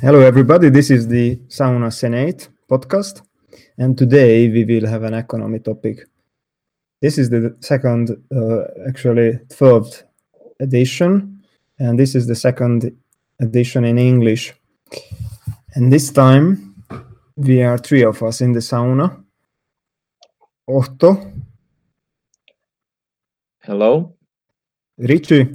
Hello, everybody. This is the Sauna Senate podcast, and today we will have an economy topic. This is the third edition, and this is the second edition in English. And this time we are three of us in the sauna. Otto. Hello. Richie.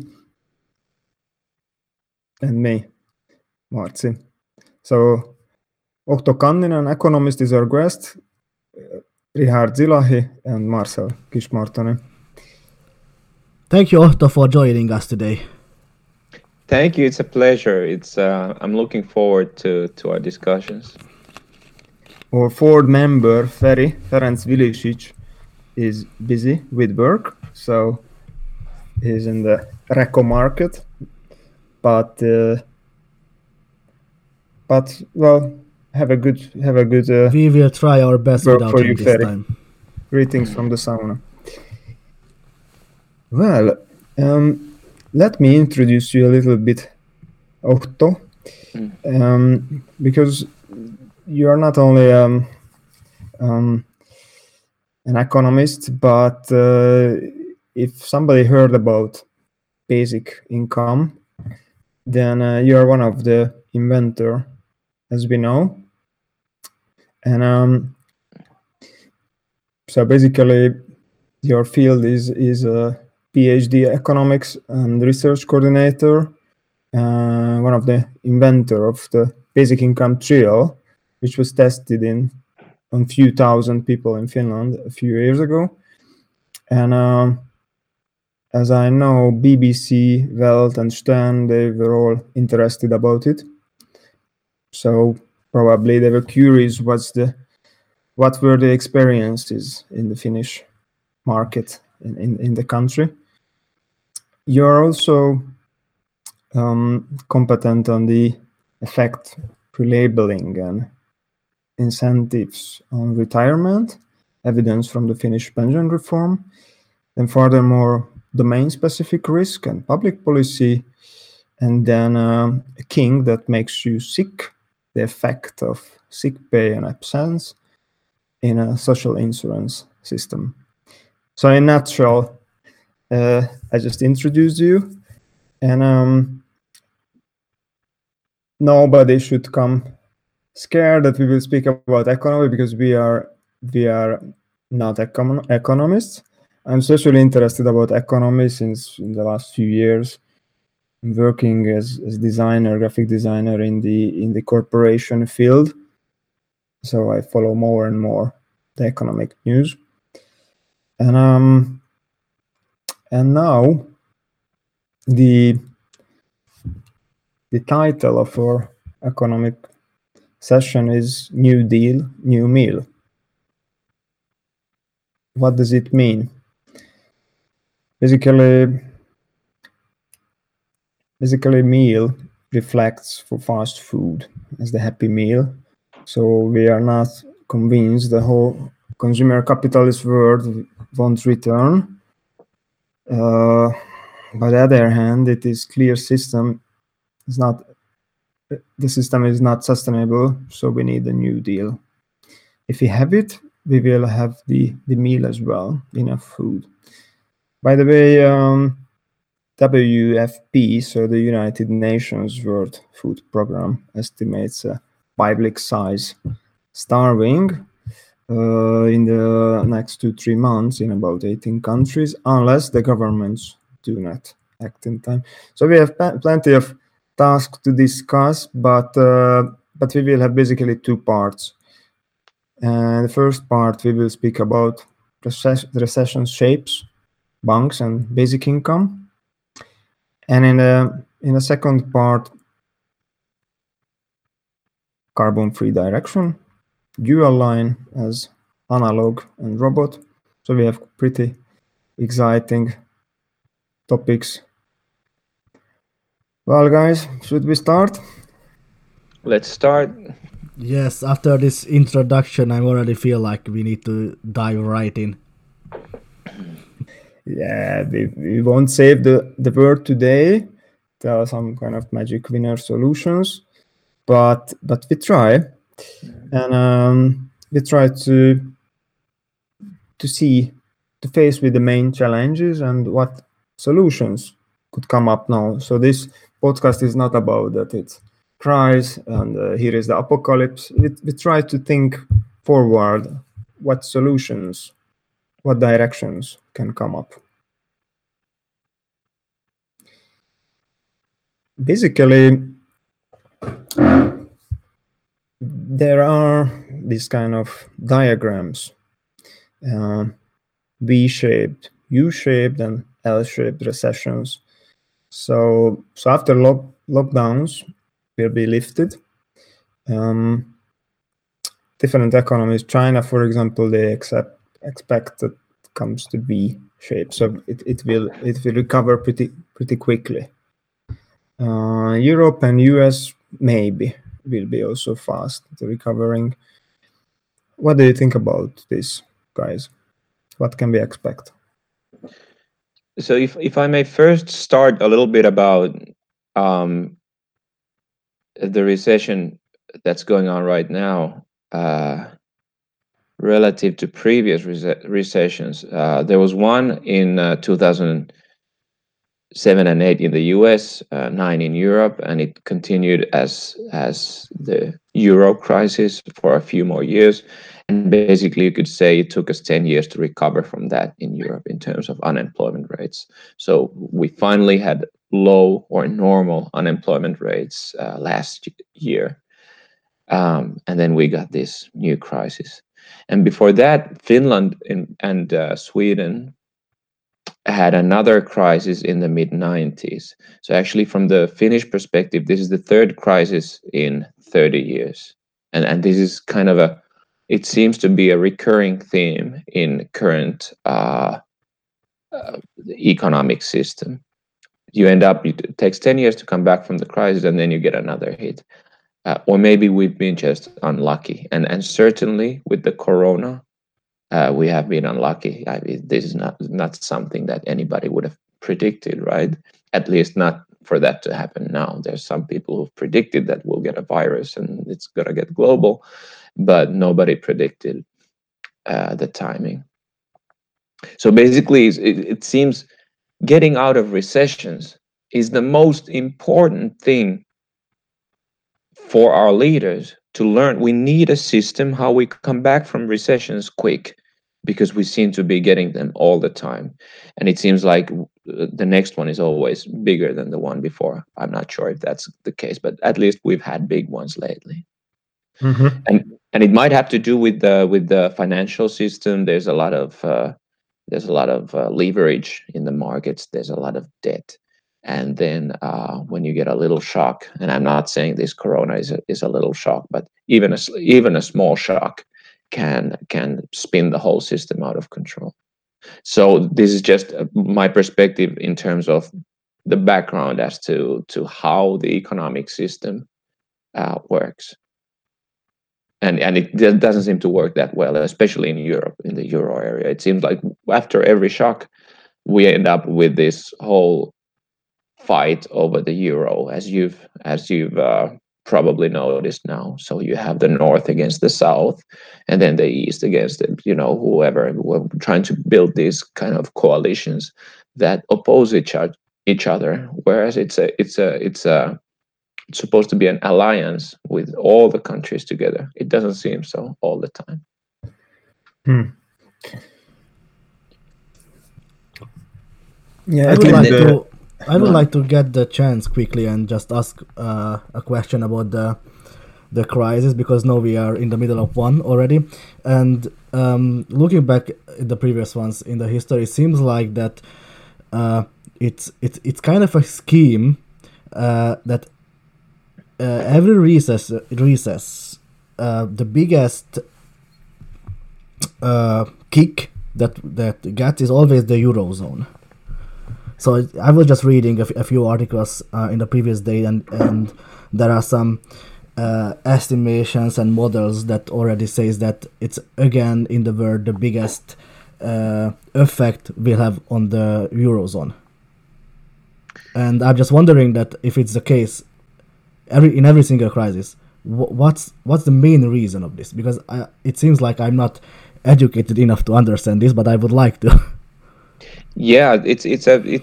And me, Marci. So, Otto Kanninen, economist, is our guest. Richard Zilahi and Marcel Kismartoni. Thank you, Otto, for joining us today. Thank you. It's a pleasure. I'm looking forward to our discussions. Our fourth member, Ferenc Vilisic, is busy with work, so he's in the Reco market. But well, have a good. We will try our best without for you, this Ferry. time. Greetings from the sauna. Well, let me introduce you a little bit, Otto, because you are not only an economist, but if somebody heard about basic income, then you are one of the inventor, as we know. And so basically your field is a PhD economics and research coordinator, one of the inventor of the basic income trial, which was tested on few thousand people in Finland a few years ago. And as I know, BBC, Welt and Stern, they were all interested about it. So probably they were curious what were the experiences in the Finnish market in the country. You're also competent on the effect pre-labeling and incentives on retirement, evidence from the Finnish pension reform, and furthermore, domain-specific risk and public policy, and then a king that makes you sick, the effect of sick pay and absence in a social insurance system. So in a nutshell, I just introduced you, and nobody should come scared that we will speak about economy, because we are not economists. I'm especially interested about economy since in the last few years I'm working as designer, graphic designer in the corporation field. So I follow more and more the economic news. And now the title of our economic session is New Deal, New Meal. What does it mean? Basically, meal reflects for fast food as the happy meal. So we are not convinced the whole consumer capitalist world won't return. By the other hand, it is clear the system is not sustainable, so we need a new deal. If we have it, we will have the meal as well, enough food. By the way, WFP, so the United Nations World Food Program, estimates a public size starving in the next 2-3 months in about 18 countries, unless the governments do not act in time. So we have plenty of tasks to discuss, but we will have basically two parts. And the first part, we will speak about recession shapes, banks and basic income. And in the second part, carbon-free direction, dual line as analog and robot. So we have pretty exciting topics. Well, guys, should we start? Let's start. Yes, after this introduction, I already feel like we need to dive right in. Yeah, we won't save the word today. There are some kind of magic winner solutions. but we try, and we try to face with the main challenges and what solutions could come up now. So this podcast is not about that it's crisis and here is the apocalypse. We try to think forward, what solutions, what directions can come up. Basically, there are these kind of diagrams, V-shaped, U-shaped, and L-shaped recessions. So after lockdowns will be lifted, different economies, China, for example, they expect that it comes to V-shape, so it will recover pretty quickly. Europe and US maybe will be also fast recovering. What do you think about this, guys? What can we expect? So if I may first start a little bit about the recession that's going on right now relative to previous recessions. There was one in 2007 and 8 in the US, 9 in Europe, and it continued as the Euro crisis for a few more years. And basically, you could say it took us 10 years to recover from that in Europe in terms of unemployment rates. So we finally had low or normal unemployment rates last year. And then we got this new crisis. And before that, Finland and Sweden had another crisis in the mid-90s. So actually, from the Finnish perspective, this is the third crisis in 30 years. And this is kind of it seems to be a recurring theme in current economic system. You end up, it takes 10 years to come back from the crisis, and then you get another hit. Or maybe we've been just unlucky. And certainly with the corona, we have been unlucky. I mean, this is not something that anybody would have predicted, right? At least not for that to happen now. There's some people who've predicted that we'll get a virus and it's going to get global, but nobody predicted the timing. So basically, it seems getting out of recessions is the most important thing for our leaders to learn. We need a system how we come back from recessions quick, because we seem to be getting them all the time. And it seems like the next one is always bigger than the one before. I'm not sure if that's the case, but at least we've had big ones lately. Mm-hmm. And it might have to do with the financial system. There's a lot of leverage in the markets. There's a lot of debt. And then when you get a little shock, and I'm not saying this corona is a little shock, but even a small shock can spin the whole system out of control. So this is just my perspective in terms of the background as to how the economic system works. And it doesn't seem to work that well, especially in Europe, in the Euro area. It seems like after every shock, we end up with this whole fight over the euro, as you've probably noticed now. So you have the North against the South, and then the East against whoever. We're trying to build these kind of coalitions that oppose each other, whereas it's supposed to be an alliance with all the countries together. It doesn't seem so all the time. Yeah, I would like to get the chance quickly and just ask a question about the crisis, because now we are in the middle of one already. And looking back at the previous ones in the history, it seems like that it's kind of a scheme that every recess, the biggest kick that gets is always the Eurozone. So I was just reading a few articles in the previous day, and there are some estimations and models that already says that it's again in the world the biggest effect will have on the Eurozone. And I'm just wondering that if it's the case in every single crisis, what's the main reason of this? Because it seems like I'm not educated enough to understand this, but I would like to. Yeah, it's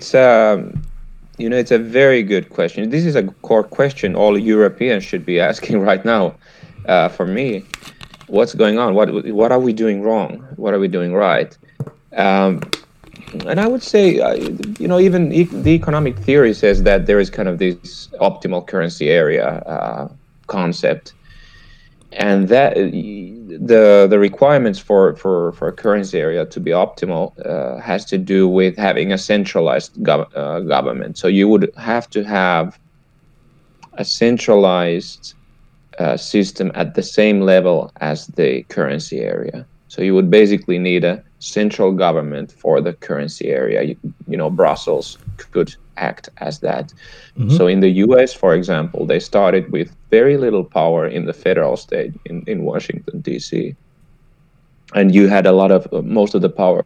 a very good question. This is a core question all Europeans should be asking right now. For me, what's going on? What are we doing wrong? What are we doing right? And I would say, even the economic theory says that there is kind of this optimal currency area concept, and that the requirements for a currency area to be optimal has to do with having a centralized government. So you would have to have a centralized system at the same level as the currency area. So you would basically need a central government for the currency area. Brussels could act as that. Mm-hmm. So in the US, for example, they started with very little power in the federal state in Washington, D.C. And you had most of the power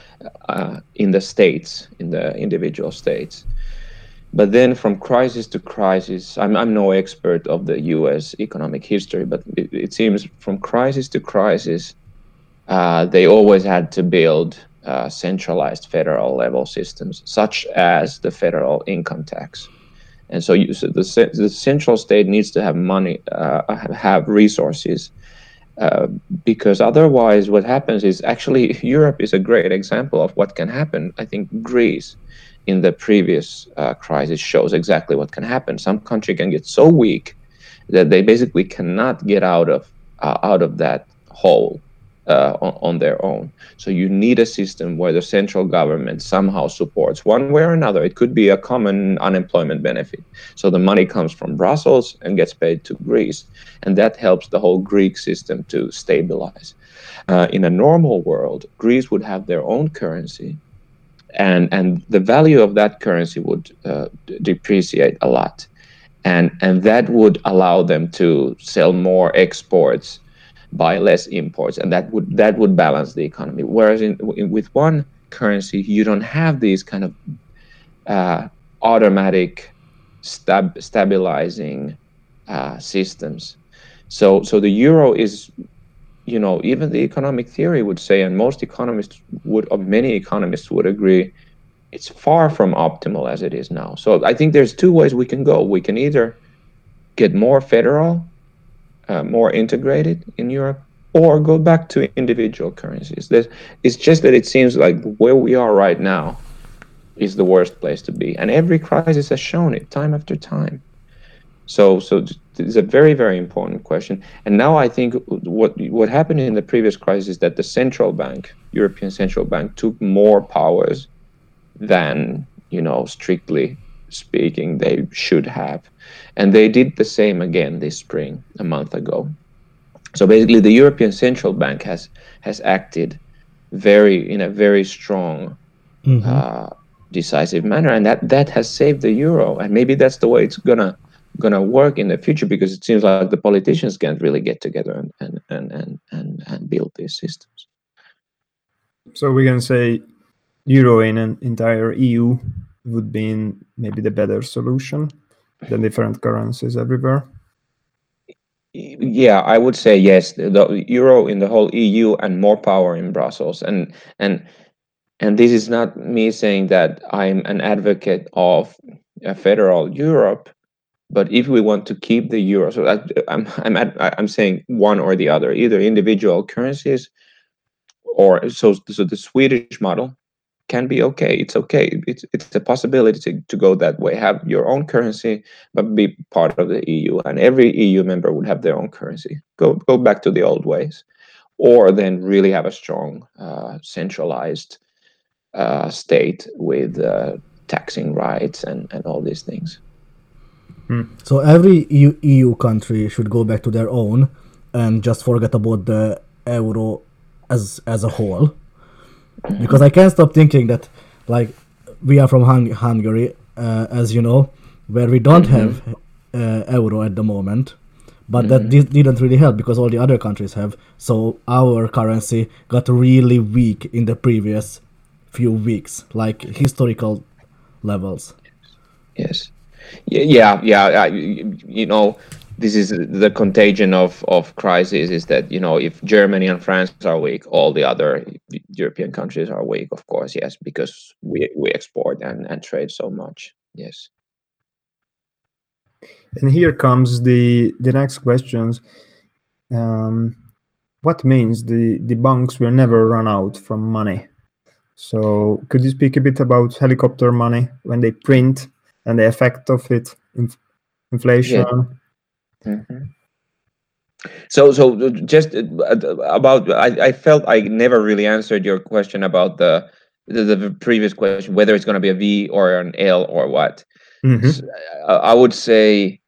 in the states, in the individual states. But then from crisis to crisis, I'm no expert of the US economic history, but it seems from crisis to crisis, they always had to build centralized federal level systems, such as the federal income tax. And so the central state needs to have money, have resources, because otherwise what happens is, actually Europe is a great example of what can happen. I think Greece in the previous crisis shows exactly what can happen. Some country can get so weak that they basically cannot get out of that hole on their own. So you need a system where the central government somehow supports one way or another. It could be a common unemployment benefit. So the money comes from Brussels and gets paid to Greece. And that helps the whole Greek system to stabilize. In a normal world, Greece would have their own currency. And the value of that currency would depreciate a lot. And that would allow them to sell more exports, buy less imports, and that would balance the economy. Whereas with one currency, you don't have these kind of automatic stabilizing systems. So the euro is, even the economic theory would say, and many economists would agree, it's far from optimal as it is now. So I think there's two ways we can go. We can either get more federal, more integrated in Europe, or go back to individual currencies. It's just that it seems like where we are right now is the worst place to be. And every crisis has shown it time after time. So it's a very, very important question. And now I think what happened in the previous crisis is that the central bank, European Central Bank, took more powers than, strictly speaking, they should have. And they did the same again this spring, a month ago. So basically, the European Central Bank has acted in a very strong, decisive manner, and that has saved the euro. And maybe that's the way it's gonna work in the future, because it seems like the politicians can't really get together and build these systems. So we can say euro in an entire EU would be maybe the better solution than different currencies everywhere. Yeah, I would say yes. The euro in the whole EU and more power in Brussels. And this is not me saying that I'm an advocate of a federal Europe, but if we want to keep the euro, so I'm saying one or the other, either individual currencies, or so the Swedish model can be okay. It's okay. It's a possibility to go that way. Have your own currency, but be part of the EU. And every EU member would have their own currency. Go back to the old ways, or then really have a strong centralized state with taxing rights and all these things. So every EU country should go back to their own and just forget about the euro as a whole. Because I can't stop thinking that, like, we are from Hungary, as you know, where we don't have euro at the moment, but that didn't really help because all the other countries have. So our currency got really weak in the previous few weeks, like historical levels. Yes. Yeah. this is the contagion of crisis, is that, you know, if Germany and France are weak, all the other European countries are weak, of course, yes, because we export and trade so much. Yes. And here comes the next questions. What means the banks will never run out from money? So could you speak a bit about helicopter money, when they print, and the effect of it, inflation? Yeah. So just about, I felt I never really answered your question about the previous question, whether it's going to be a V or an L or what. So, I would say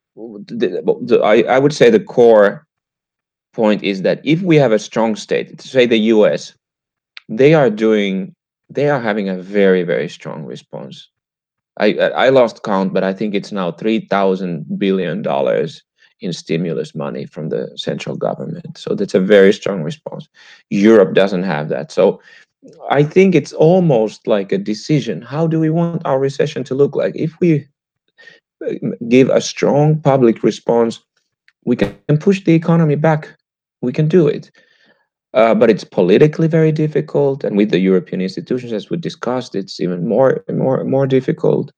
I would say the core point is that if we have a strong state, say the US, they are having a very, very strong response. I lost count, but I think it's now $3,000 billion in stimulus money from the central government. So that's a very strong response. Europe doesn't have that. So I think it's almost like a decision. How do we want our recession to look like? If we give a strong public response, we can push the economy back. We can do it. But it's politically very difficult, and with the European institutions, as we discussed, it's even more difficult.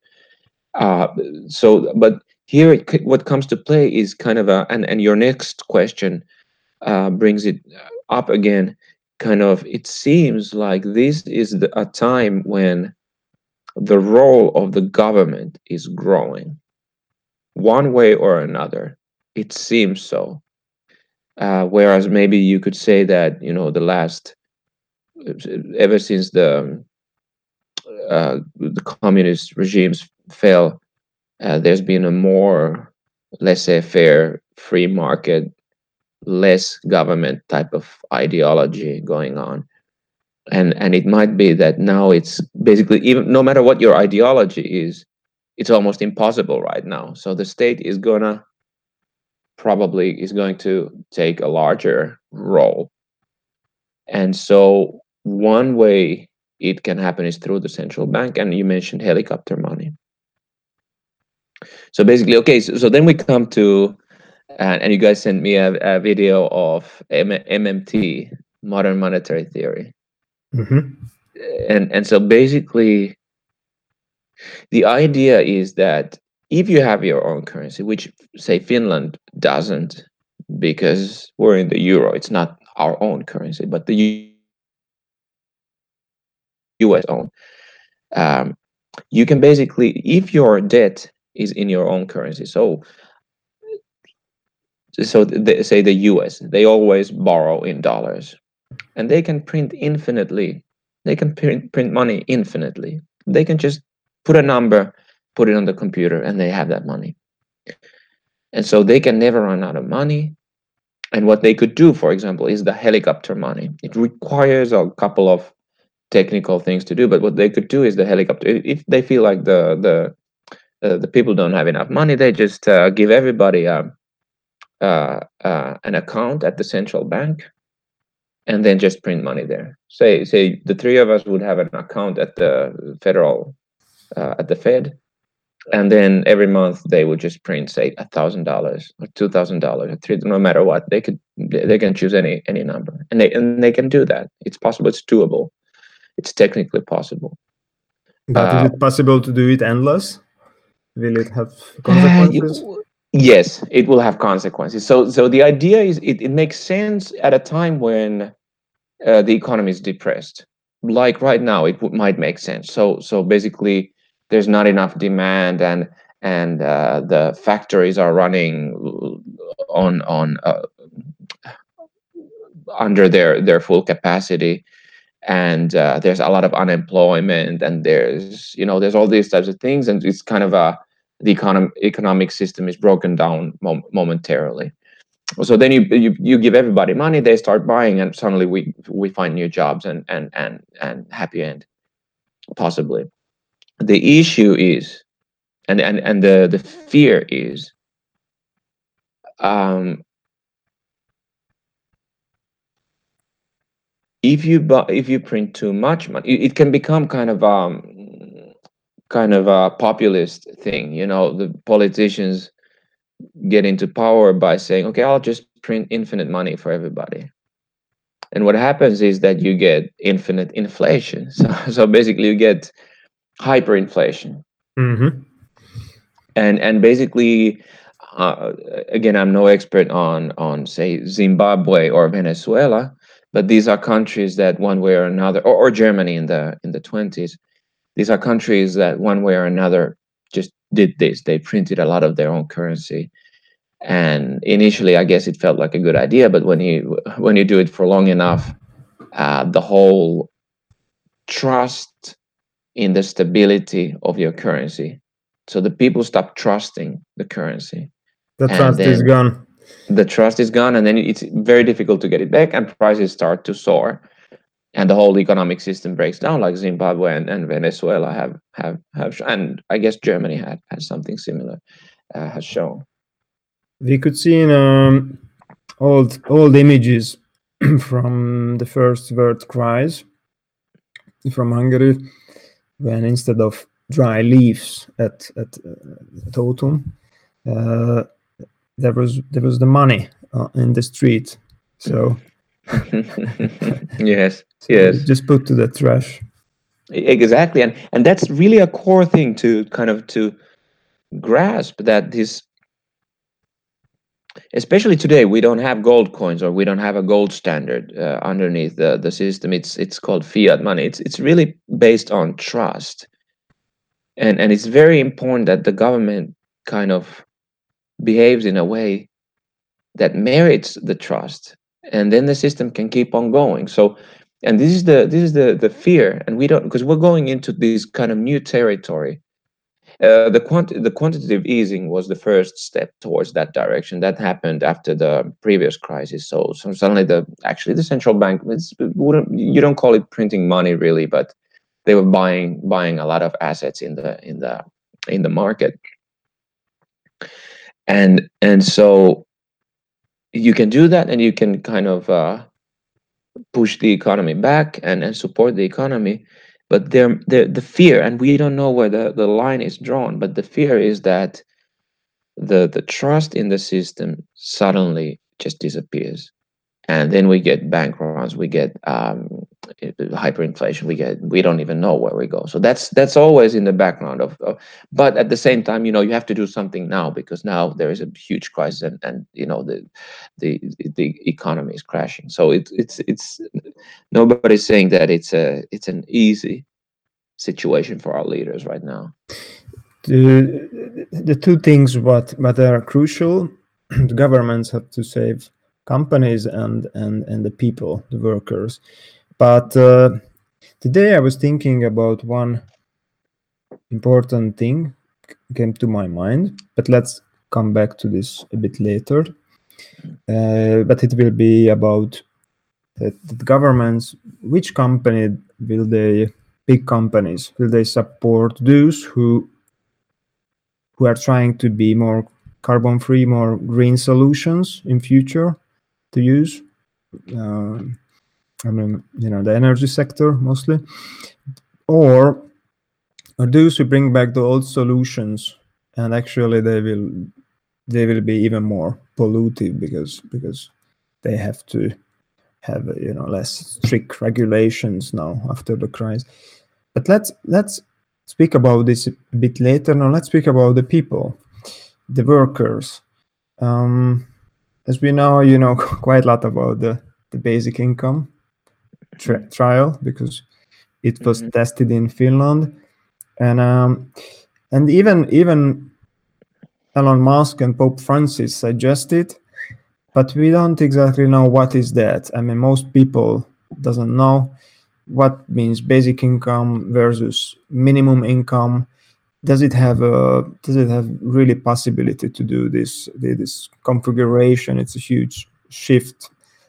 But here, what comes to play is kind of and your next question brings it up again. Kind of, it seems like this is a time when the role of the government is growing, one way or another. It seems so. Whereas maybe you could say that, you know, ever since the communist regimes fell, there's been a more laissez-faire, free market, less government type of ideology going on. And it might be that now it's basically, even no matter what your ideology is, it's almost impossible right now. So the state is going to take a larger role. And so one way it can happen is through the central bank, and you mentioned helicopter money. So basically, okay, so then we come to, and you guys sent me a video of MMT, modern monetary theory. And so basically, the idea is that if you have your own currency, which say Finland doesn't, because we're in the euro, it's not our own currency, but the US own. You can basically, if your debt is in your own currency, so say the US, they always borrow in dollars, and they can print infinitely. They can print money infinitely. They can just put a number, put it on the computer, and they have that money. And so they can never run out of money. And what they could do, for example, is the helicopter money. It requires a couple of technical things to do, but what they could do is the helicopter. If they feel like the people don't have enough money, they just give everybody an account at the central bank, and then just print money there. Say the three of us would have an account at the federal at the Fed, and then every month they would just print, say, $1,000 or $2,000 or no matter what. They can choose any number, and they can do that. It's possible. It's doable. It's technically possible. But is it possible to do it endless? Will it have consequences? Yes, it will have consequences. So the idea is it makes sense at a time when the economy is depressed. Like right now, it might make sense. So basically, there's not enough demand, and the factories are running on under their full capacity, and there's a lot of unemployment, and there's all these types of things, and it's kind of the economic system is broken down momentarily. So then you give everybody money, they start buying, and suddenly we find new jobs and happy end, possibly. The issue is, and the fear is, if you print too much money, it can become kind of a populist thing. The politicians, get into power by saying, okay, I'll just print infinite money for everybody. And what happens is that you get infinite inflation. So basically you get hyperinflation. Mm-hmm. And basically, again, I'm no expert on say Zimbabwe or Venezuela, but these are countries that one way or another, or Germany in the 20s, these are countries that one way or another just did this. They printed a lot of their own currency. And initially, I guess it felt like a good idea, but when you do it for long enough, the whole trust in the stability of your currency. So the people stop trusting the currency. The And trust is then gone. the trust is gone, and then it's very difficult to get it back, and prices start to soar, and the whole economic system breaks down, like Zimbabwe and Venezuela have and I guess Germany had something similar, has shown. We could see in old images from the first world crisis from Hungary, when instead of dry leaves at autumn, there was the money in the street. So yes, just put to the trash. Exactly, and that's really a core thing to kind of to grasp, that this, especially today, we don't have gold coins, or we don't have a gold standard underneath the system. It's called fiat money. It's really based on trust, and it's very important that the government kind of behaves in a way that merits the trust, and then the system can keep on going. So, and this is the fear, and we don't, because we're going into this kind of new territory. The quantitative easing was the first step towards that direction. That happened after the previous crisis. So suddenly the central bank, you don't call it printing money really, but they were buying a lot of assets in the market, and so you can do that, and you can kind of push the economy back and support the economy. But the fear, and we don't know where the line is drawn, but the fear is that the trust in the system suddenly just disappears, and then we get bank runs, we get hyperinflation, we don't even know where we go. So that's always in the background but at the same time, you have to do something now, because now there is a huge crisis, and the economy is crashing. So it's nobody's saying that it's an easy situation for our leaders right now. The two things what are crucial: the governments have to save companies and the people, the workers. But today I was thinking about one important thing came to my mind, but let's come back to this a bit later. But it will be about the governments. Which company will they, big companies, will they support those who are trying to be more carbon free, more green solutions in future to use? I mean, the energy sector mostly, or those who bring back the old solutions, and actually they will be even more pollutive because they have to have less strict regulations now after the crisis. But let's speak about this a bit later. Now let's speak about the people, the workers. As we know, quite a lot about the basic income trial, because it was tested in Finland, and even Elon Musk and Pope Francis suggested, but we don't exactly know what is that. I mean, most people doesn't know what means basic income versus minimum income. Does it have really possibility to do this configuration? It's a huge shift.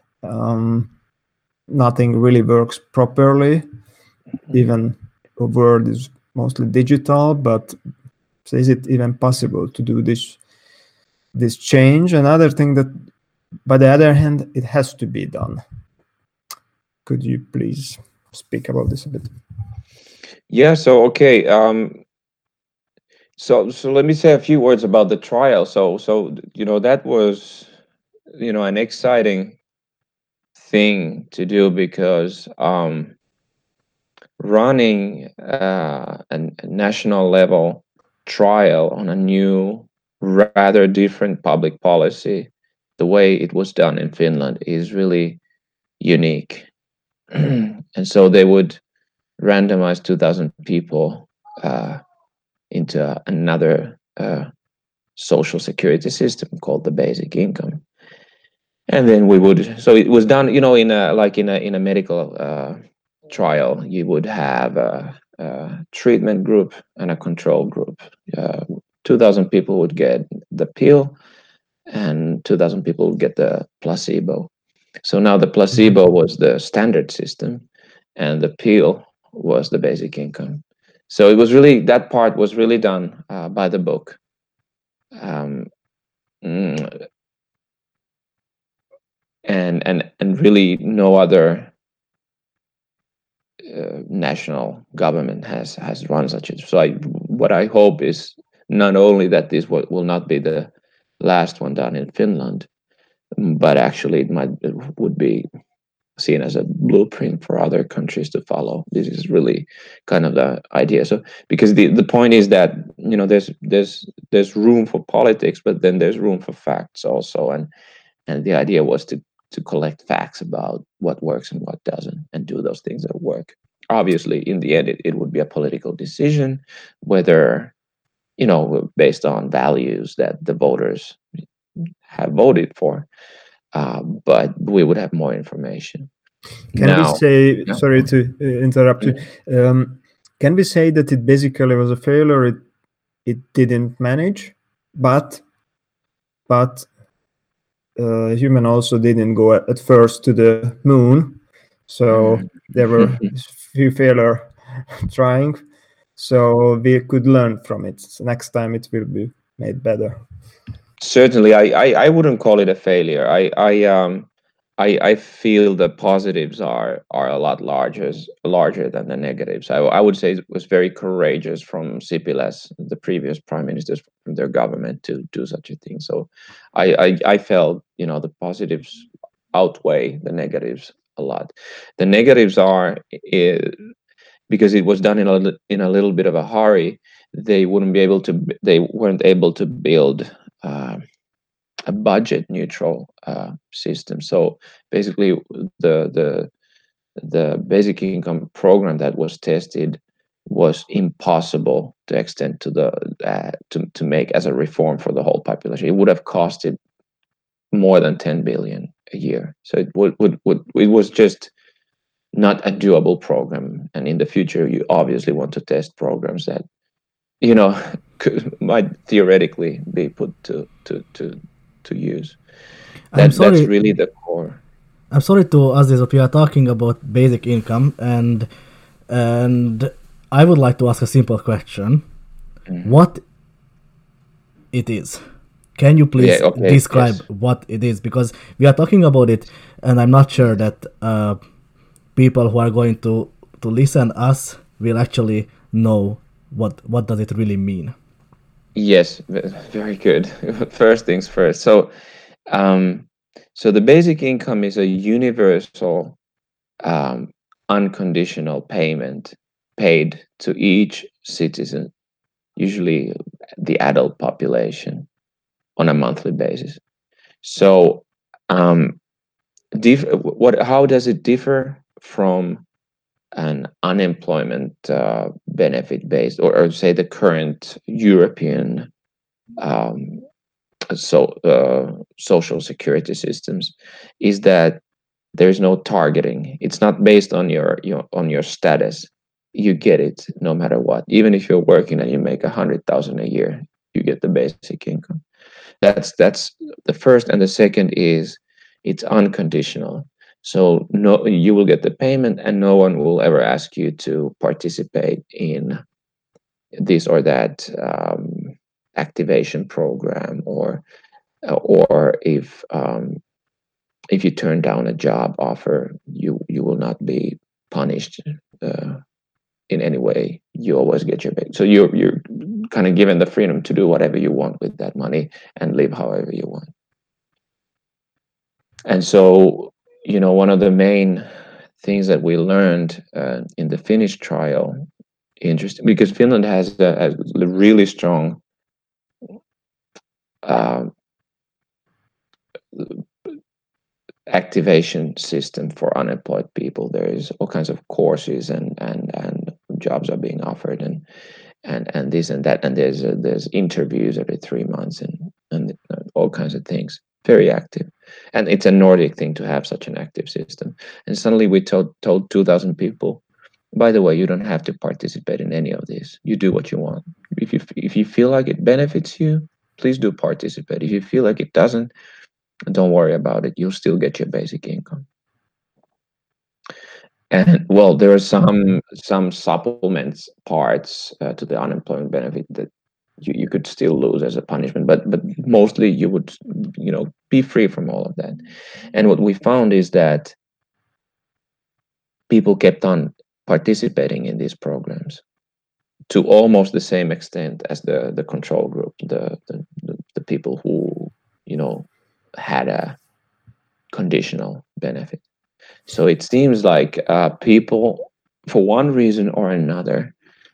Nothing really works properly. Even the world is mostly digital, but is it even possible to do this change? Another thing that, by the other hand, it has to be done. Could you please speak about this a bit? Yeah. So okay. So let me say a few words about the trial. So that was an exciting thing to do because running a national level trial on a new, rather different public policy, the way it was done in Finland, is really unique. And so they would randomize 2,000 people into another social security system called the basic income. And then so it was done, in a medical trial. You would have a treatment group and a control group. 2,000 people would get the pill, and 2,000 people would get the placebo. So now the placebo was the standard system, and the pill was the basic income. So it was really, that part was really done by the book. And really no other national government has run such a. So what I hope is not only that this will not be the last one done in Finland, but actually it would be seen as a blueprint for other countries to follow. This is really kind of the idea. So because the point is that there's room for politics, but then there's room for facts also, and the idea was to collect facts about what works and what doesn't, and do those things that work. Obviously, in the end, it would be a political decision, whether based on values that the voters have voted for. But we would have more information. Can we say? Sorry to interrupt you. Can we say that it basically was a failure? It didn't manage, but human also didn't go at first to the moon, so there were few failure trying. So we could learn from it. So next time it will be made better. Certainly, I wouldn't call it a failure. I feel the positives are a lot larger than the negatives. I would say it was very courageous from Sipilä, the previous prime ministers, from their government, to do such a thing. So I felt the positives outweigh the negatives a lot. The negatives are because it was done in a little bit of a hurry. They weren't able to build a budget neutral system. So basically, the basic income program that was tested was impossible to extend to the to make as a reform for the whole population. It would have costed more than 10 billion a year. So it was just not a doable program. And in the future, you obviously want to test programs that might theoretically be put to use. That's really the core. I'm sorry to ask this, but we are talking about basic income, and I would like to ask a simple question: what it is? Can you please describe what it is? Because we are talking about it, and I'm not sure that people who are going to listen us will actually know what does it really mean. Yes, very good. First things first. So the basic income is a universal, unconditional payment paid to each citizen, usually the adult population, on a monthly basis. So how does it differ from an unemployment benefit based, or say the current European social security systems, is that there's no targeting. It's not based on your status. You get it no matter what. Even if you're working and you make 100,000 a year, you get the basic income. That's the first. And the second is it's unconditional. So no, you will get the payment, and no one will ever ask you to participate in this or that activation program, or if you turn down a job offer, you will not be punished in any way. You always get your pay. So kind of given the freedom to do whatever you want with that money and live however you want. And so, one of the main things that we learned in the Finnish trial, interesting, because Finland has a really strong activation system for unemployed people. There is all kinds of courses and jobs are being offered and this and that, and there's interviews every 3 months and all kinds of things. Very active, and it's a Nordic thing to have such an active system. And suddenly we told 2,000 people, by the way, you don't have to participate in any of this. You do what you want. If you feel like it benefits you, please do participate. If you feel like it doesn't, don't worry about it. You'll still get your basic income. And well, there are some supplements parts to the unemployment benefit that you could still lose as a punishment, but mostly you would be free from all of that. And what we found is that people kept on participating in these programs to almost the same extent as the control group, the people who had a conditional benefit. So it seems like people, for one reason or another,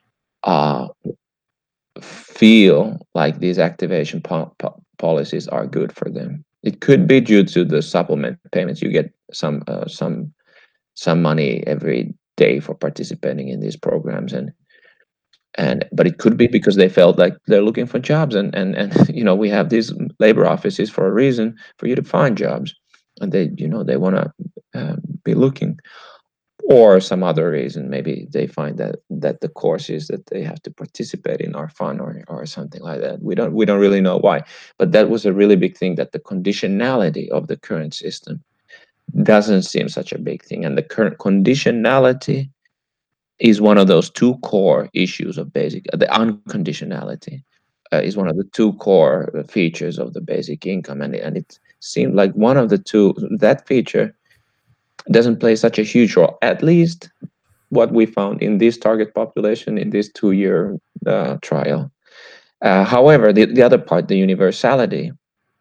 feel like these activation policies are good for them. It could be due to the supplement payments. You get some money every day for participating in these programs, but it could be because they felt like they're looking for jobs, and we have these labor offices for a reason, for you to find jobs, and they want to be looking, or some other reason. Maybe they find that the courses that they have to participate in are fun or something like that. We don't really know why, but that was a really big thing, that the conditionality of the current system doesn't seem such a big thing, and the current conditionality is one of those two core issues of basic. The unconditionality is one of the two core features of the basic income, and it seemed like one of the two, that feature, doesn't play such a huge role, at least what we found in this target population in this 2-year trial. However, the other part, the universality,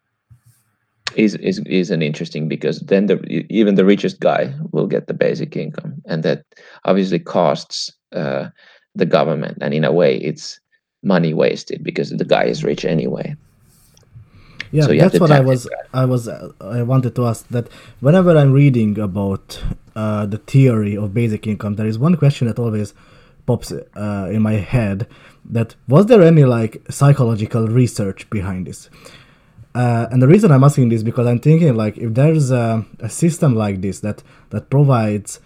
is an interesting, because then even the richest guy will get the basic income, and that obviously costs the government, and in a way it's money wasted because the guy is rich anyway. Yeah, so that's what I wanted to ask. That whenever I'm reading about the theory of basic income, there is one question that always pops in my head: that was there any psychological research behind this? And the reason I'm asking this, because I'm thinking if there's a system like this that provides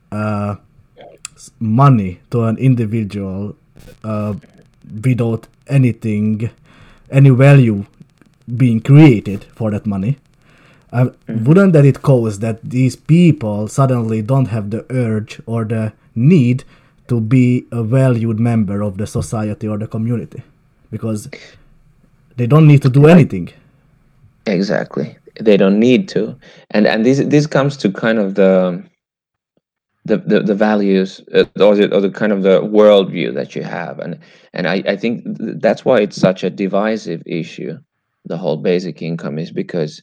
money to an individual without any value being created for that money, wouldn't that it cause that these people suddenly don't have the urge or the need to be a valued member of the society or the community, because they don't need to do anything? Exactly, they don't need to, and this comes to kind of the values or the kind of the worldview that you have, and I think that's why it's such a divisive issue. The whole basic income is because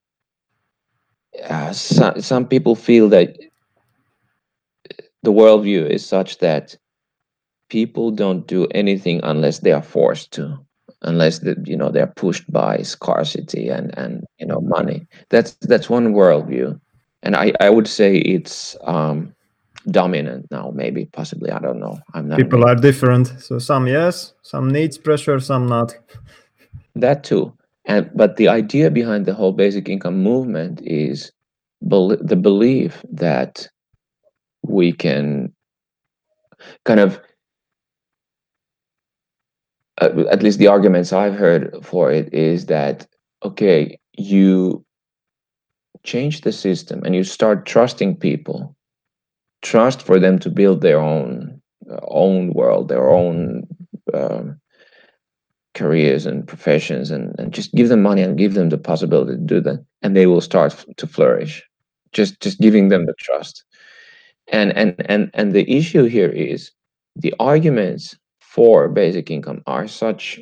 some people feel that the worldview is such that people don't do anything unless they are forced to, unless they're pushed by scarcity and money. That's one worldview, and I would say it's dominant now, maybe, possibly, I don't know. I'm not. People are different, so some yes, some needs pressure, some not. That too. But the idea behind the whole basic income movement is the belief that we can kind of, at least the arguments I've heard for it is that, okay, you change the system and you start trusting people, trust for them to build their own world, their own careers and professions, and just give them money and give them the possibility to do that, and they will start to flourish. Just giving them the trust. And the issue here is the arguments for basic income are such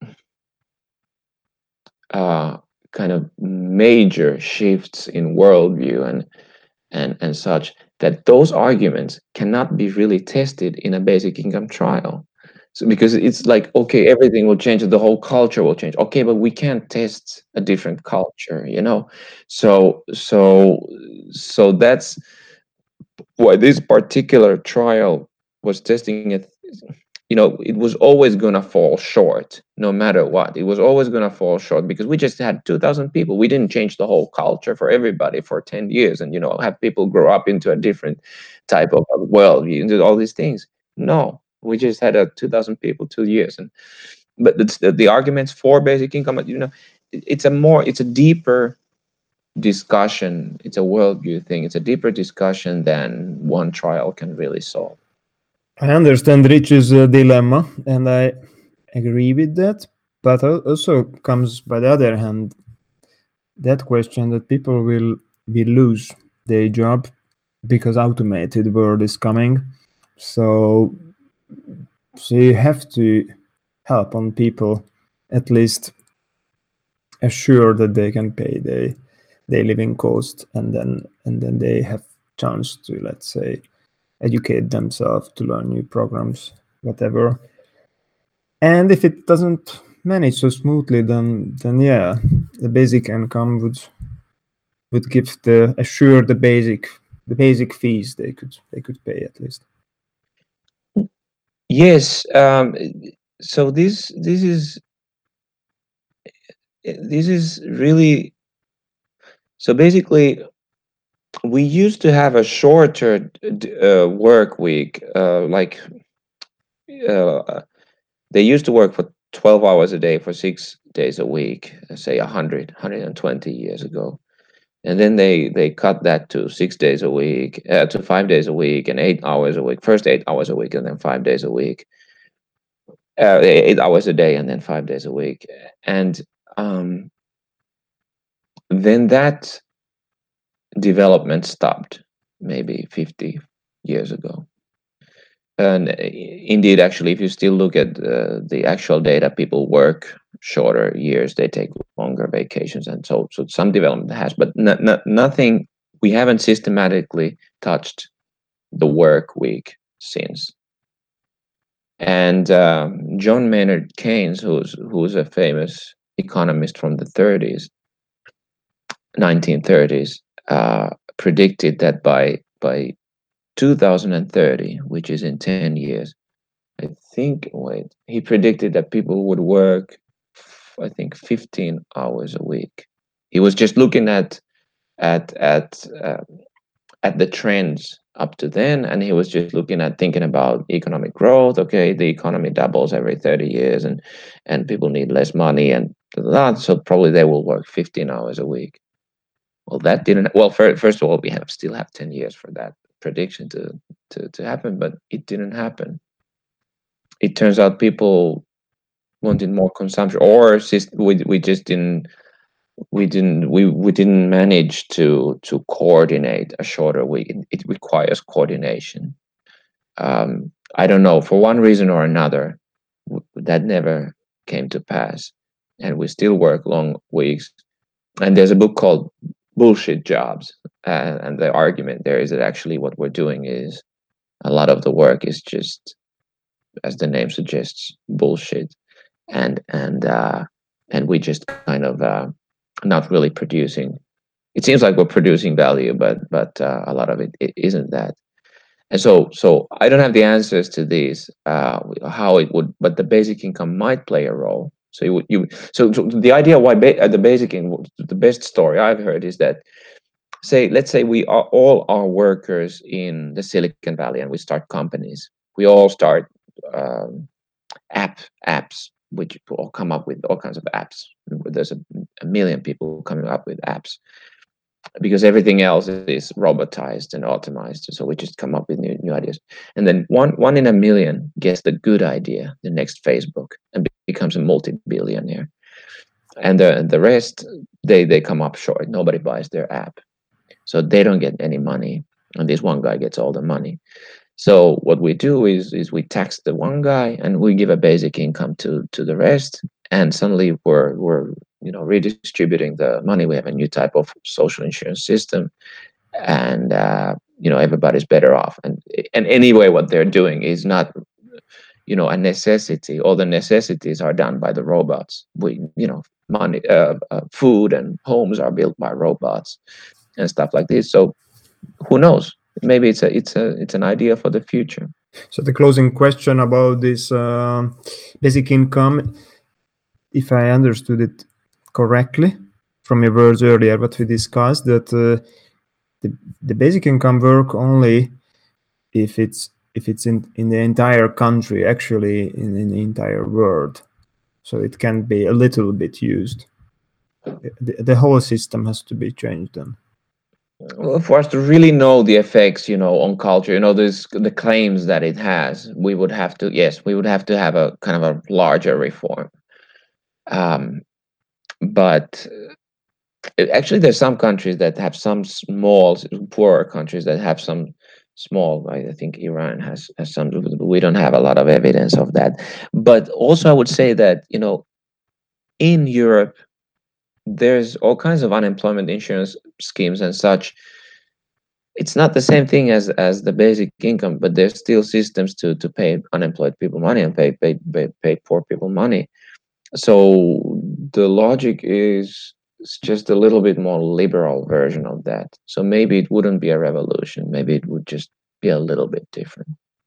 kind of major shifts in worldview and such that those arguments cannot be really tested in a basic income trial. So because it's like, okay, everything will change, the whole culture will change. Okay, but we can't test a different culture, you know. So that's why this particular trial was testing it. You know, it was always going to fall short no matter what. It was always going to fall short because we just had 2,000 people. We didn't change the whole culture for everybody for 10 years and, you know, have people grow up into a different type of worldview and do all these things. No, we just had 2,000 people 2 years. But the arguments for basic income, you know, it's a deeper discussion. It's a worldview thing. It's a deeper discussion than one trial can really solve. I understand Rich's dilemma, and I agree with that. But also comes, by the other hand, that question that people will lose their job because automated world is coming. So you have to help on people at least assure that they can pay their living cost, and then they have chance to, let's say, educate themselves, to learn new programs, whatever. And if it doesn't manage so smoothly, then yeah, the basic income would give the basic fees they could pay at least. Yes. So this is really, so basically we used to have a shorter work week, they used to work for 12 hours a day for 6 days a week, say 120 years ago. And then they cut that to 6 days a week, to 5 days a week and 8 hours a week. First 8 hours a week and then 5 days a week. 8 hours a day and then 5 days a week. And then that development stopped maybe 50 years ago. And indeed, actually, if you still look at the actual data, people work shorter years, they take longer vacations, and so some development has, but nothing. We haven't systematically touched the work week since. And John Maynard Keynes, who's a famous economist from the 1930s, predicted that by 2030, which is in 10 years, he predicted that people would work, I think, 15 hours a week. He was just looking at the trends up to then, and he was just thinking about economic growth. Okay, the economy doubles every 30 years, and people need less money, and so probably they will work 15 hours a week. Well, that didn't. Well, first of all, we still have 10 years for that prediction to happen, but it didn't happen. It turns out people wanted more consumption, or we just didn't manage to coordinate a shorter week. It requires coordination. I don't know, for one reason or another, that never came to pass, and we still work long weeks. And there's a book called Bullshit Jobs, and the argument there is that actually what we're doing is a lot of the work is just, as the name suggests, bullshit, and we just kind of not really producing. It seems like we're producing value, but a lot of it isn't that. And so I don't have the answers to these, how it would, but the basic income might play a role. So so the idea why the basic income, the best story I've heard is that, let's say we are all our workers in the Silicon Valley, and we start companies. We all start apps, which all come up with all kinds of apps. There's a million people coming up with apps, because everything else is robotized and automized. So we just come up with new ideas. And then one in a million gets the good idea, the next Facebook, and becomes a multi-billionaire. And the rest, they come up short. Nobody buys their app. So they don't get any money. And this one guy gets all the money. So what we do is we tax the one guy and we give a basic income to the rest, and suddenly we're redistributing the money. We have a new type of social insurance system, and everybody's better off. And anyway, what they're doing is not a necessity. All the necessities are done by the robots. Money, food, and homes are built by robots and stuff like this. So who knows? Maybe it's an idea for the future. So the closing question about this basic income, if I understood it correctly from your words earlier, what we discussed, that the basic income work only if it's in the entire country, actually in the entire world. So it can be a little bit used. The whole system has to be changed then. Well, for us to really know the effects, on culture, the claims that it has, we would have to have a kind of a larger reform. But actually, there's some countries that have some small, poorer countries that have some small. I think Iran has some. We don't have a lot of evidence of that. But also, I would say that in Europe, there's all kinds of unemployment insurance schemes and such. It's not the same thing as the basic income, but there's still systems to pay unemployed people money and pay poor people money. So the logic is just a little bit more liberal version of that. So maybe it wouldn't be a revolution. Maybe it would just be a little bit different.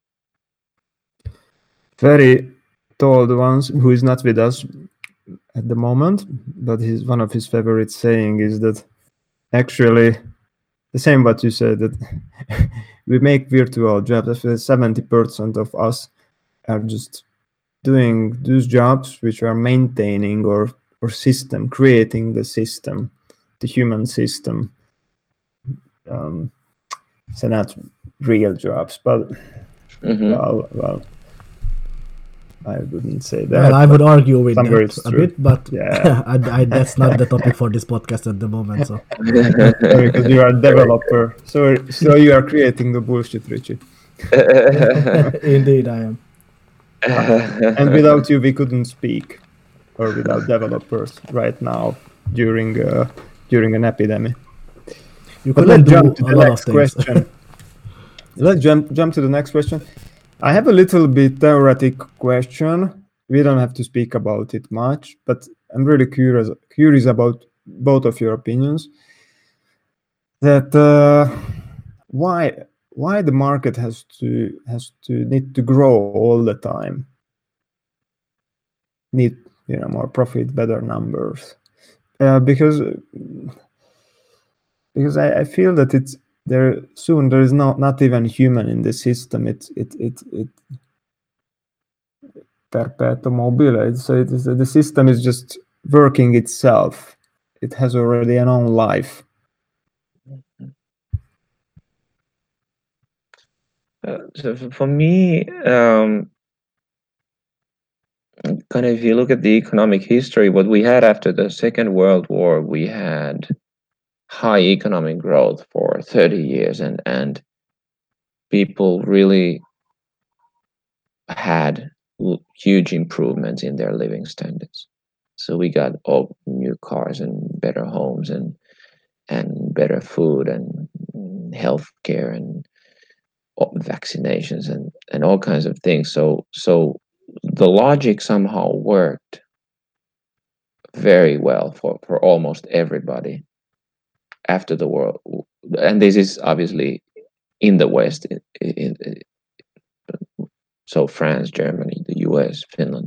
Very told ones who is not with us at the moment, but one of his favorite saying is that actually the same what you said, that we make virtual jobs. 70% of us are just doing those jobs which are maintaining or creating the system, the human system. So not real jobs, but well, I wouldn't say that. Well, I would argue with that a true. bit, but yeah. that's not the topic for this podcast at the moment. So because you are a developer, so you are creating the bullshit, Richie. Indeed, I am. And without you, we couldn't speak, or without developers right now during an epidemic. You couldn't jump to the next question. Let's jump to the next question. I have a little bit theoretic question. We don't have to speak about it much, but I'm really curious about both of your opinions. That why the market has to need to grow all the time, need more profit, better numbers, because I feel that it's there soon. There is not even human in the system. It perpetuum mobile. So the system is just working itself. It has already an own life. So for me, kind of, if you look at the economic history, what we had after the Second World War, we had high economic growth for 30 years, and people really had huge improvements in their living standards. So we got all new cars and better homes and better food and healthcare and vaccinations and all kinds of things. So the logic somehow worked very well for almost everybody after the war. And this is obviously in the West, so France, Germany, the US, Finland.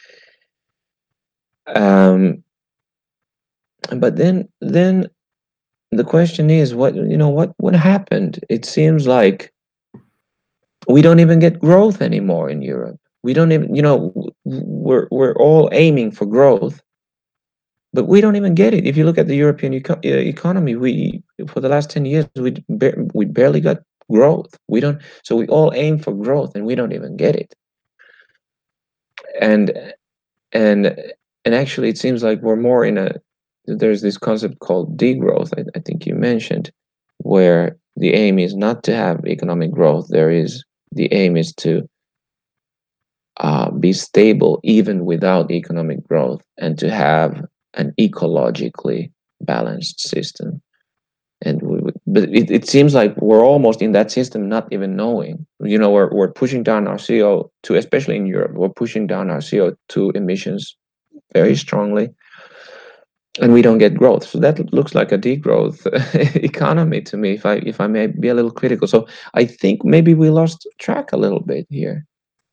But then the question is, what happened? It seems like we don't even get growth anymore in Europe. We don't even, we're all aiming for growth, but we don't even get it. If you look at the European economy, we for the last 10 years we barely got growth. So we all aim for growth and we don't even get it. And actually, it seems like we're more there's this concept called degrowth, I think you mentioned, where the aim is not to have economic growth. There is the aim is to be stable even without economic growth, and to have an ecologically balanced system. And but it seems like we're almost in that system, not even knowing. We're pushing down our CO2, especially in Europe. We're pushing down our CO2 emissions very strongly, and we don't get growth. So that looks like a degrowth economy to me, if I may be a little critical. So I think maybe we lost track a little bit here,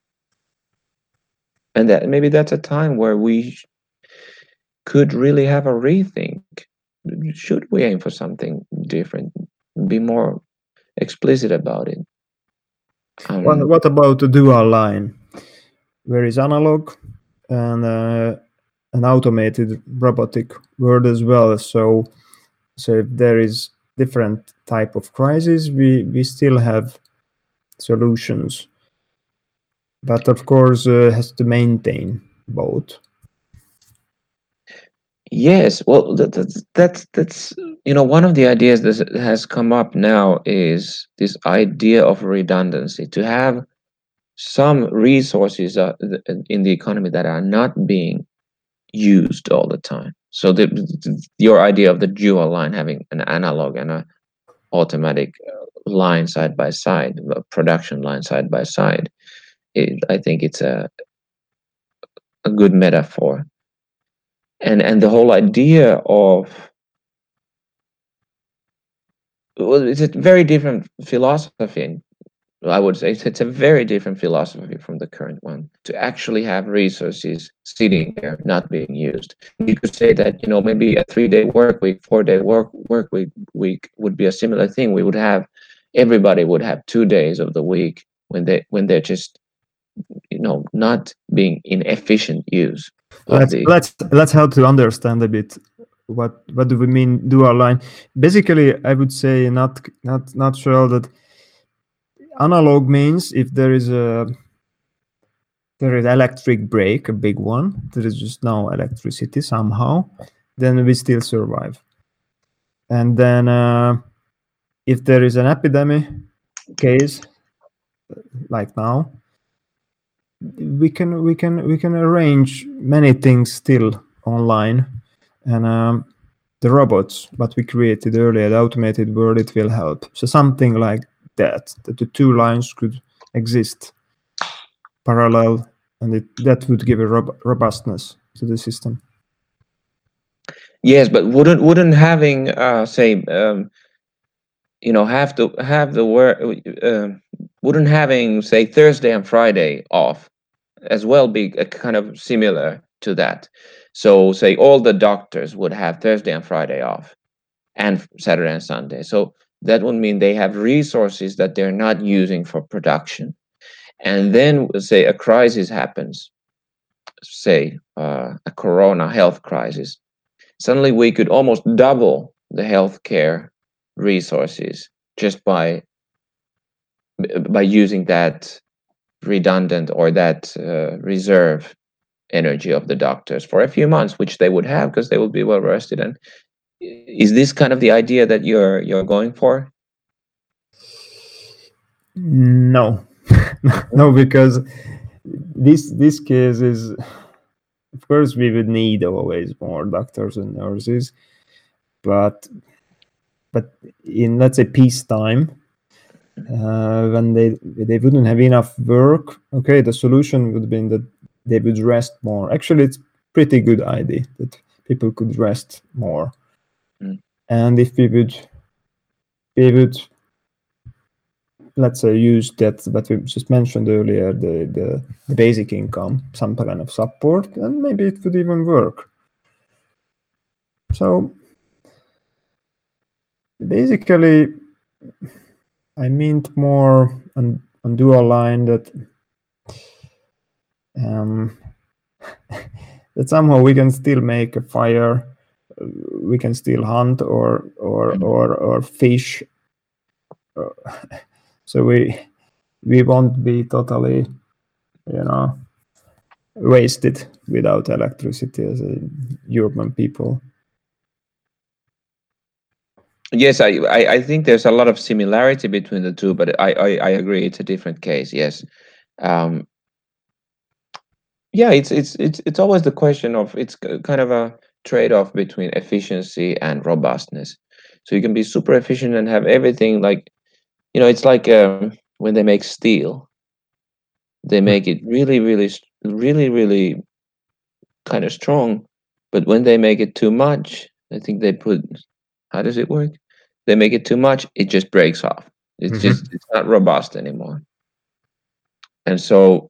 and that maybe that's a time where we could really have a rethink. Should we aim for something different? Be more explicit about it. What about the dual line, where is analog and an automated robotic world as well? So if there is different type of crisis, we still have solutions, but of course has to maintain both. Yes, well, that's one of the ideas that has come up now is this idea of redundancy, to have some resources in the economy that are not being used all the time. So your idea of the dual line, having an analog and an automatic line side by side, a production line side by side, I think it's a good metaphor. And the whole idea of, well, it's a very different philosophy. I would say it's a very different philosophy from the current one, to actually have resources sitting there not being used. You could say that maybe a 3-day work week, 4-day work week would be a similar thing. Everybody would have 2 days of the week when they're just not being in efficient use. Let's help to understand a bit what do we mean dual line. Basically, I would say not sure that analog means if there is electric break, a big one, there is just no electricity somehow, then we still survive. And then if there is an epidemic case like now, we can arrange many things still online, and the robots what we created earlier, the automated world, it will help. So something like that the two lines could exist parallel, and that would give a robustness to the system. Yes, but wouldn't having wouldn't having, say, Thursday and Friday off as well be a kind of similar to that? So say all the doctors would have Thursday and Friday off, and Saturday and Sunday. So that would mean they have resources that they're not using for production. And then say a crisis happens, say a corona health crisis. Suddenly we could almost double the healthcare resources just by using that redundant or that reserve energy of the doctors for a few months, which they would have because they would be well rested. And is this kind of the idea that you're going for? No. No, because this case is, of course, we would need always more doctors and nurses, but in, let's say, peacetime, when they wouldn't have enough work, okay, the solution would be that they would rest more. Actually, it's pretty good idea that people could rest more. And if we would let's say use that we just mentioned earlier, the basic income, some kind of support, and maybe it would even work. So basically, I meant more on dual line that that somehow we can still make a fire, we can still hunt or fish. So we won't be totally, wasted without electricity as a European people. Yes, I think there's a lot of similarity between the two, but I agree it's a different case. Yes. Um, yeah, it's always the question of kind of a trade-off between efficiency and robustness. So you can be super efficient and have everything like, it's like when they make steel, they make it really, really, really, really kind of strong. But when they make it too much, I think they put, how does it work? They make it too much, it just breaks off. It's not robust anymore. And so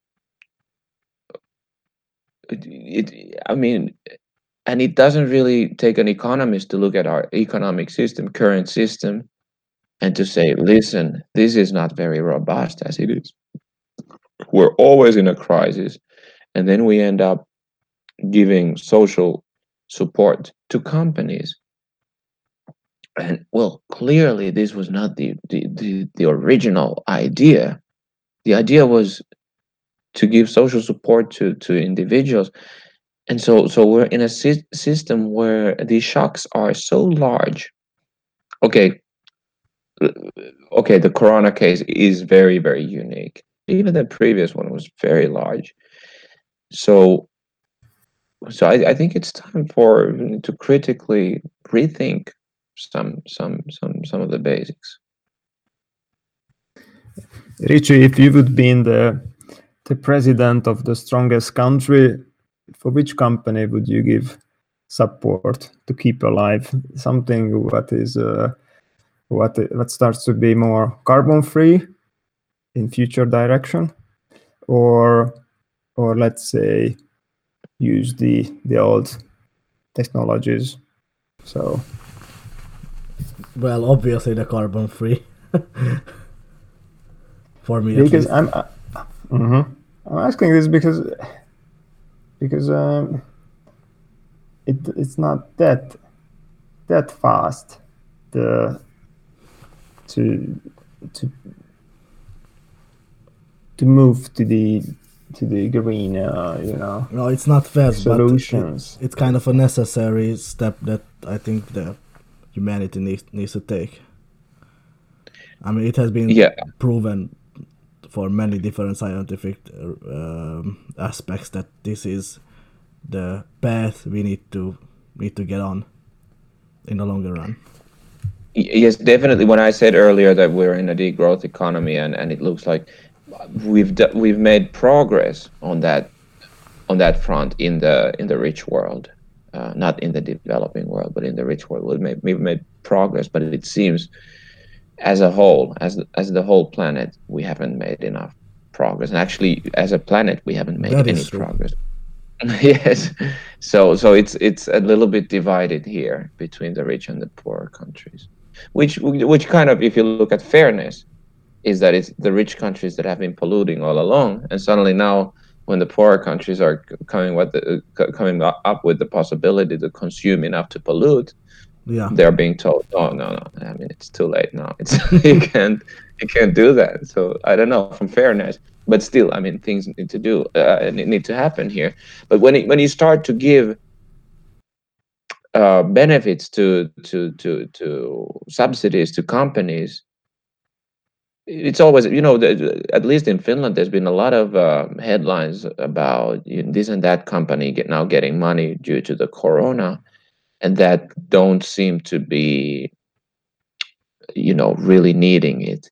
I mean, and it doesn't really take an economist to look at our economic system, current system, and to say, listen, this is not very robust as it is. We're always in a crisis. And then we end up giving social support to companies. And well, clearly this was not the original idea. The idea was to give social support to individuals. And so we're in a system where the shocks are so large. Okay, okay, the corona case is very, very unique. Even the previous one was very large. So I think it's time for to critically rethink some of the basics. Richie, if you would be in the president of the strongest country, for which company would you give support to keep alive? Something what is what starts to be more carbon free in future direction, or let's say use the old technologies. So Well, obviously the carbon free. For me, at because least. I'm asking this because it's not that fast to move to the green No, it's not fast, solutions. but it's kind of a necessary step that I think the humanity needs to take. I mean, it has been proven for many different scientific aspects that this is the path we need to get on in the longer run. Yes, definitely. When I said earlier that we're in a degrowth economy, and it looks like we've made progress on that front in the rich world, not in the developing world, but in the rich world. We've made progress, but it seems as a whole, as the whole planet, we haven't made enough progress. And actually, as a planet, we haven't made any progress. Yes, so it's a little bit divided here between the rich and the poor countries, which kind of, if you look at fairness, is that it's the rich countries that have been polluting all along, and suddenly now, when the poorer countries are coming up with the possibility to consume enough to pollute, they're being told, no. I mean, it's too late now. It's you can't do that. So I don't know, from fairness, but still, I mean, things need to happen here. But when you start to give benefits to subsidies to companies, it's always, at least in Finland, there's been a lot of headlines about this and that company now getting money due to the corona, and that don't seem to be, really needing it.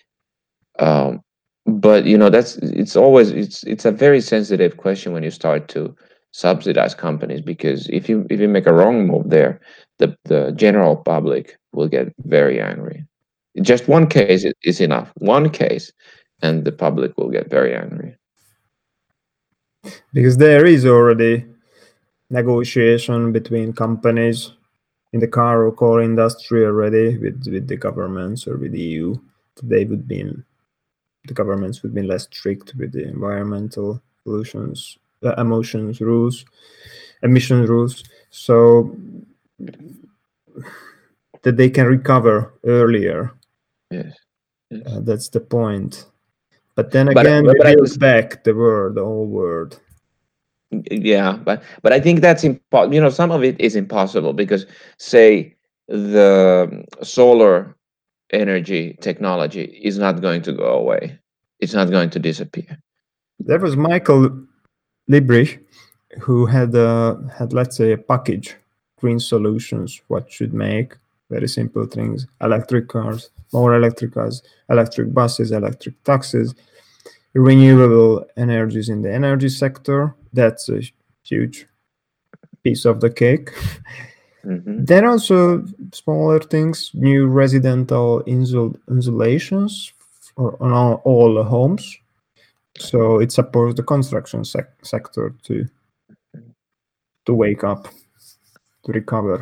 But it's a very sensitive question when you start to subsidize companies, because if you make a wrong move there, the general public will get very angry. Just one case is enough. One case, and the public will get very angry. Because there is already negotiation between companies in the car or core industry already with the governments or with the EU. The governments would be less strict with the environmental emission rules, so that they can recover earlier. Yes. That's the point. But then again, they build back the whole world. Yeah, but I think that's impossible. Some of it is impossible, because say the solar energy technology is not going to go away. It's not going to disappear. There was Michael Liebrecht, who had let's say a package, green solutions, what should make very simple things: electric cars, more electric cars, electric buses, electric taxis, renewable energies in the energy sector. That's a huge piece of the cake. Mhm. There are also smaller things, new residential insulations on all homes. So it supports the construction sector to wake up, to recover.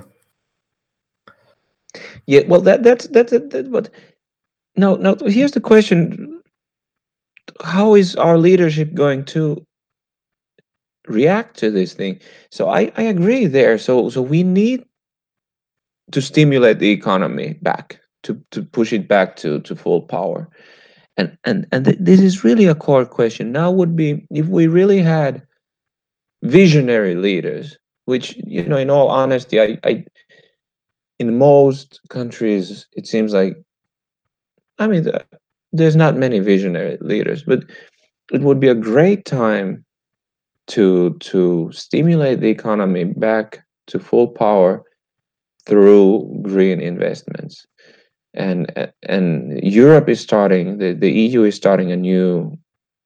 Yeah, well, that's what. No. Here's the question: how is our leadership going to react to this thing? So I agree there. So we need to stimulate the economy back, to push it back to full power, and this is really a core question. Now would be if we really had visionary leaders, which, in all honesty, I in most countries it seems like, I mean, there's not many visionary leaders, but it would be a great time to stimulate the economy back to full power through green investments. And Europe is starting, the EU is starting a new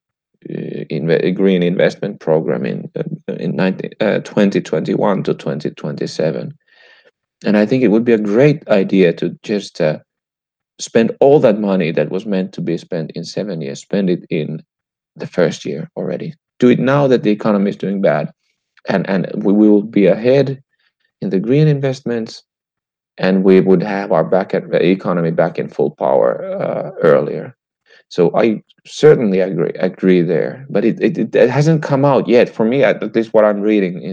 green investment program in 2021 to 2027. And I think it would be a great idea to just spend all that money that was meant to be spent in 7 years, spend it in the first year already. Do it now that the economy is doing bad, and we will be ahead in the green investments, and we would have our economy back in full power earlier. So I certainly agree there, but it hasn't come out yet for me. At least what I'm reading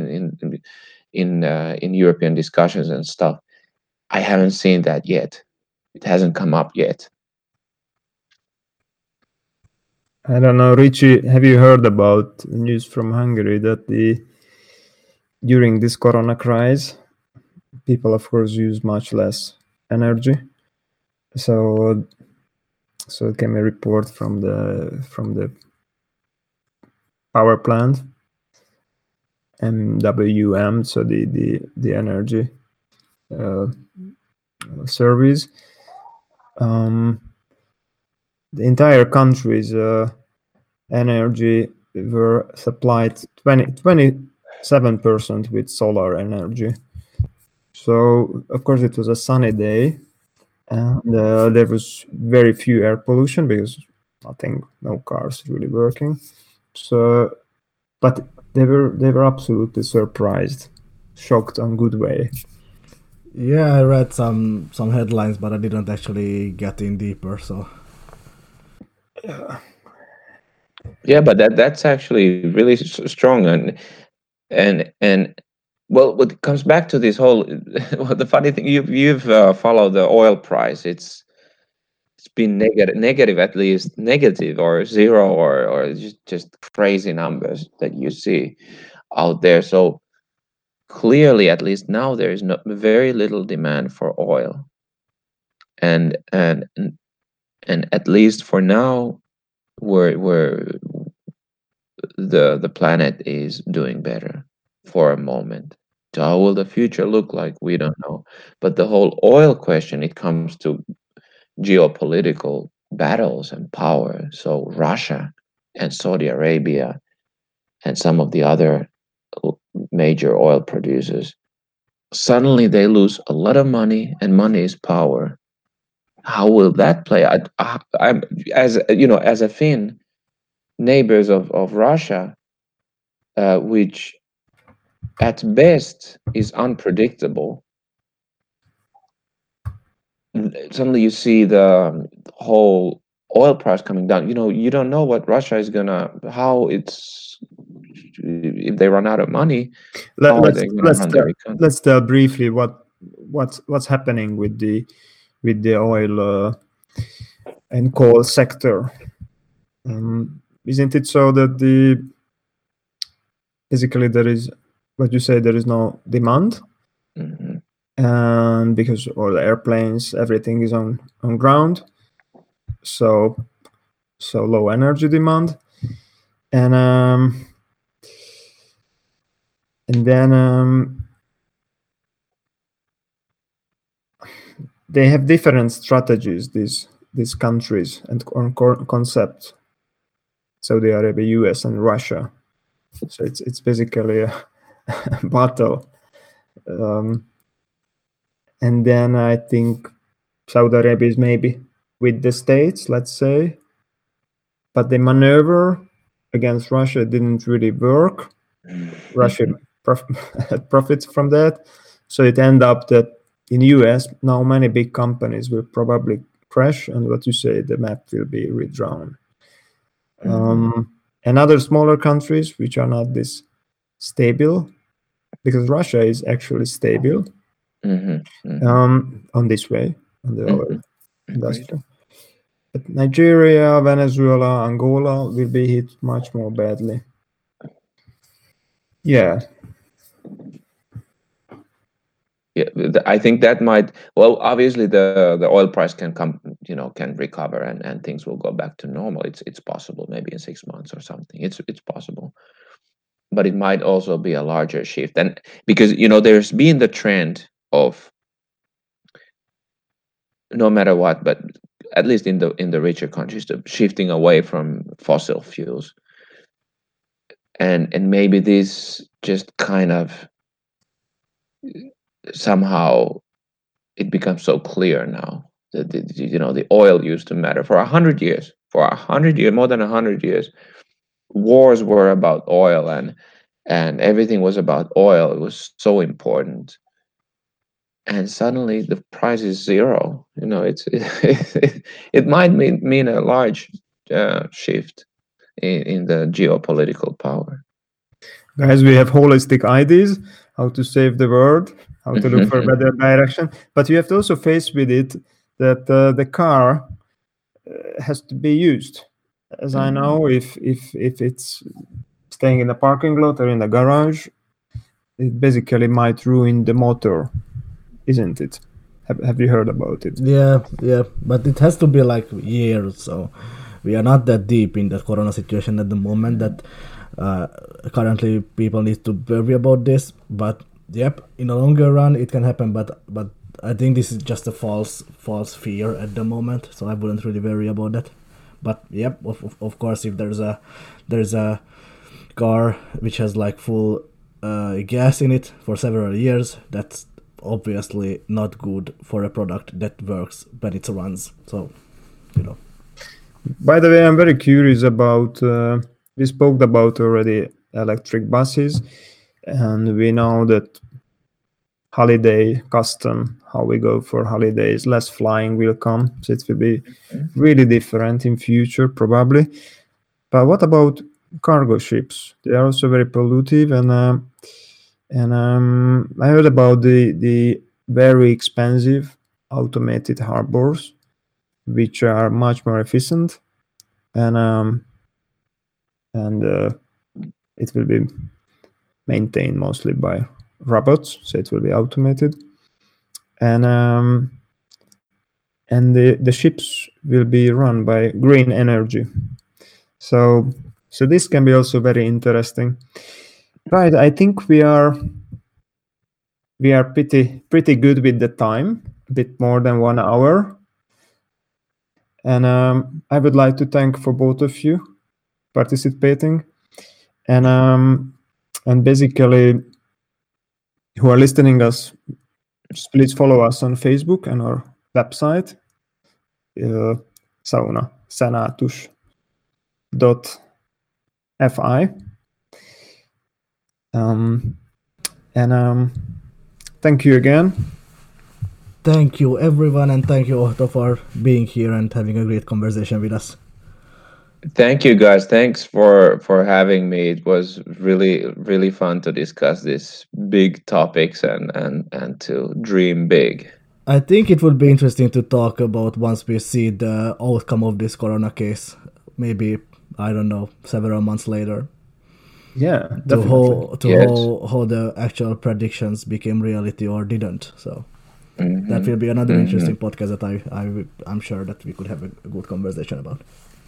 in European discussions and stuff, I haven't seen that yet. It hasn't come up yet. I don't know, Richie, have you heard about news from Hungary that during this corona crisis, people, of course, use much less energy. So it came a report from the power plant, MWM, so the energy service. The entire country's energy were supplied 27% with solar energy. So of course it was a sunny day, and there was very few air pollution because no cars really working. So, but they were absolutely surprised, shocked in good way. Yeah, I read some headlines, but I didn't actually get in deeper. So yeah, but that's actually really strong, and well, what comes back to this whole well, the funny thing, you've followed the oil price. It's been negative, at least negative or zero, or just crazy numbers that you see out there. So clearly, at least now, there is very little demand for oil, and at least for now, we're the planet is doing better for a moment. So how will the future look like? We don't know. But the whole oil question, it comes to geopolitical battles and power. So Russia and Saudi Arabia and some of the other major oil producers, suddenly they lose a lot of money, and money is power. How will that play? I'm, as a Finn, neighbors of Russia, which at best is unpredictable. Suddenly you see the whole oil price coming down. You don't know what Russia is if they run out of money, how are they going to run their economy? Let's tell briefly what's happening with the oil and coal sector. Isn't it so that basically there is, what you say, there is no demand, Mm-hmm. and because all the airplanes, everything is on ground, so low energy demand, and then they have different strategies, these countries, and concepts. Saudi Arabia, US, and Russia. So it's basically a battle. And then I think Saudi Arabia is maybe with the States, let's say, but the maneuver against Russia didn't really work. Russia profits from that. So it ended up that in US, now many big companies will probably crash, and what you say, the map will be redrawn. And other smaller countries which are not this stable, because Russia is actually stable on this way, on the oil industry. But Nigeria, Venezuela, Angola will be hit much more badly. Yeah. Yeah, I think that might, well, obviously the oil price can come, can recover and things will go back to normal. It's possible, maybe in 6 months or something. It's possible, but it might also be a larger shift. And because there's been the trend of, no matter what, but at least in the richer countries, the shifting away from fossil fuels, and maybe this just kind of somehow it becomes so clear now that the oil used to matter for 100 years. For 100 years, more than 100 years, wars were about oil, and everything was about oil. It was so important, and suddenly the price is zero. It might mean a large shift in the geopolitical power. Guys, we have holistic ideas how to save the world, how to look for a better direction, but you have to also face with it that the car has to be used. As I know, if it's staying in a parking lot or in a garage, it basically might ruin the motor, isn't it? Have you heard about it? Yeah, but it has to be like years, so we are not that deep in the corona situation at the moment that currently people need to worry about this. But yep, in the longer run it can happen, but I think this is just a false fear at the moment, so I wouldn't really worry about that. But yep, of course, if there's a car which has like full gas in it for several years, that's obviously not good for a product that works when it runs. So, By the way, I'm very curious about, we spoke about already electric buses, and we know that holiday custom, how we go for holidays, less flying will come. So it will be really different in future, probably. But what about cargo ships? They are also very pollutive, and I heard about the very expensive automated harbors, which are much more efficient, and it will be maintained mostly by robots, so it will be automated, and the ships will be run by green energy. So this can be also very interesting. Right, I think we are pretty good with the time, a bit more than 1 hour. And I would like to thank for both of you participating, and basically who are listening us, please follow us on Facebook and our website, saunasenatus.fi. And thank you again. Thank you everyone, and thank you Otto for being here and having a great conversation with us. Thank you guys. Thanks for having me. It was really, really fun to discuss these big topics and to dream big. I think it would be interesting to talk about once we see the outcome of this corona case. Maybe, I don't know, several months later. Yeah, to definitely. how the actual predictions became reality or didn't. So that will be another interesting podcast that I'm sure that we could have a good conversation about.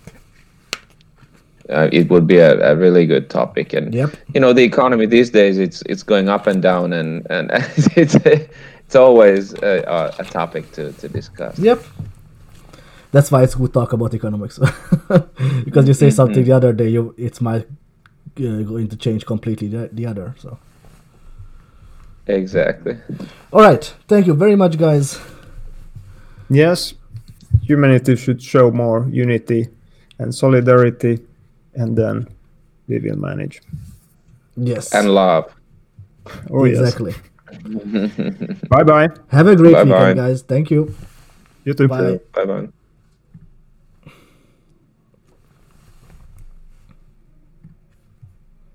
It would be a really good topic, and Yep. the economy these days, it's going up and down, and it's always a topic to discuss. Yep. That's why it's good talk about economics, because you say something the other day, it might going to change completely the other. So Exactly. all right, thank you very much, guys. Yes, humanity should show more unity and solidarity, and then we will manage. Yes, And love. Oh, exactly. Yes. Bye-bye. Have a great Bye-bye. weekend, guys. Thank you. You too. Bye. Bye bye.